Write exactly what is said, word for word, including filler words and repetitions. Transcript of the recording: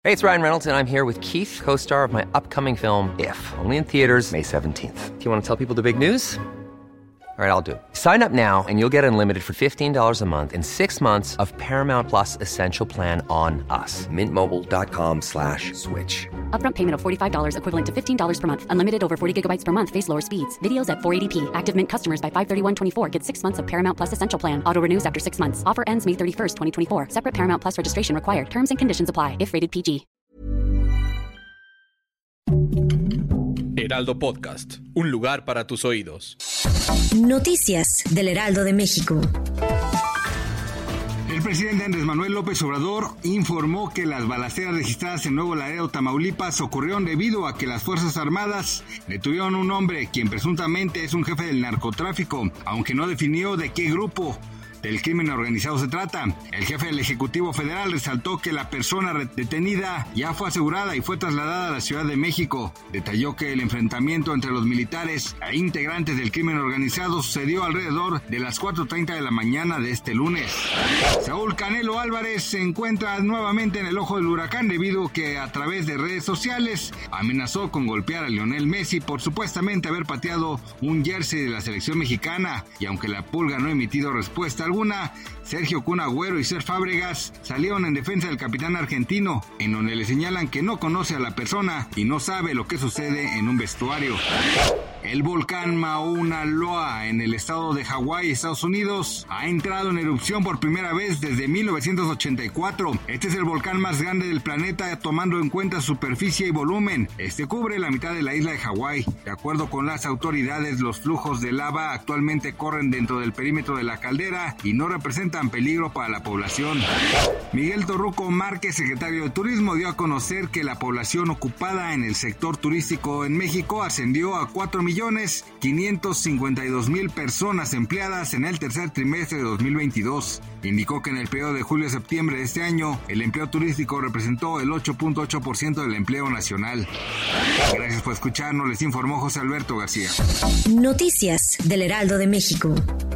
Hey, it's Ryan Reynolds, and I'm here with Keith, co-star of my upcoming film, If, only in theaters May seventeenth. Do you want to tell people the big news? All right, I'll do it. Sign up now and you'll get unlimited for fifteen dollars a month and six months of Paramount Plus Essential Plan on us. Mint Mobile dot com slash switch. Upfront payment of forty-five dollars equivalent to fifteen dollars per month. Unlimited over forty gigabytes per month. Face lower speeds. Videos at four eighty p. Active Mint customers by five thirty-one twenty-four get six months of Paramount Plus Essential Plan. Auto renews after six months. Offer ends May thirty-first, twenty twenty-four. Separate Paramount Plus registration required. Terms and conditions apply if rated P G. Heraldo Podcast, un lugar para tus oídos. Noticias del Heraldo de México. El presidente Andrés Manuel López Obrador informó que las balaceras registradas en Nuevo Laredo, Tamaulipas, ocurrieron debido a que las Fuerzas Armadas detuvieron a un hombre quien presuntamente es un jefe del narcotráfico, aunque no definió de qué grupo del crimen organizado se trata. El jefe del Ejecutivo Federal resaltó que la persona detenida ya fue asegurada y fue trasladada a la Ciudad de México. Detalló que el enfrentamiento entre los militares e integrantes del crimen organizado sucedió alrededor de las cuatro treinta de la mañana de este lunes. Saúl Canelo Álvarez se encuentra nuevamente en el ojo del huracán debido a que a través de redes sociales amenazó con golpear a Lionel Messi por supuestamente haber pateado un jersey de la selección mexicana, y aunque la Pulga no ha emitido respuesta alguna, Sergio Kun Agüero y Cesc Fábregas salieron en defensa del capitán argentino, en donde le señalan que no conoce a la persona y no sabe lo que sucede en un vestuario. El volcán Mauna Loa en el estado de Hawái, Estados Unidos, ha entrado en erupción por primera vez desde mil novecientos ochenta y cuatro. Este es el volcán más grande del planeta, tomando en cuenta su superficie y volumen. Este cubre la mitad de la isla de Hawái. De acuerdo con las autoridades, los flujos de lava actualmente corren dentro del perímetro de la caldera y no representan peligro para la población. Miguel Torruco Márquez, secretario de Turismo, dio a conocer que la población ocupada en el sector turístico en México ascendió a cuatro millones quinientos cincuenta y dos mil personas empleadas en el tercer trimestre de dos mil veintidós. Indicó que en el periodo de julio a septiembre de este año, el empleo turístico representó el ocho punto ocho por ciento del empleo nacional. Gracias por escucharnos, les informó José Alberto García. Noticias del Heraldo de México.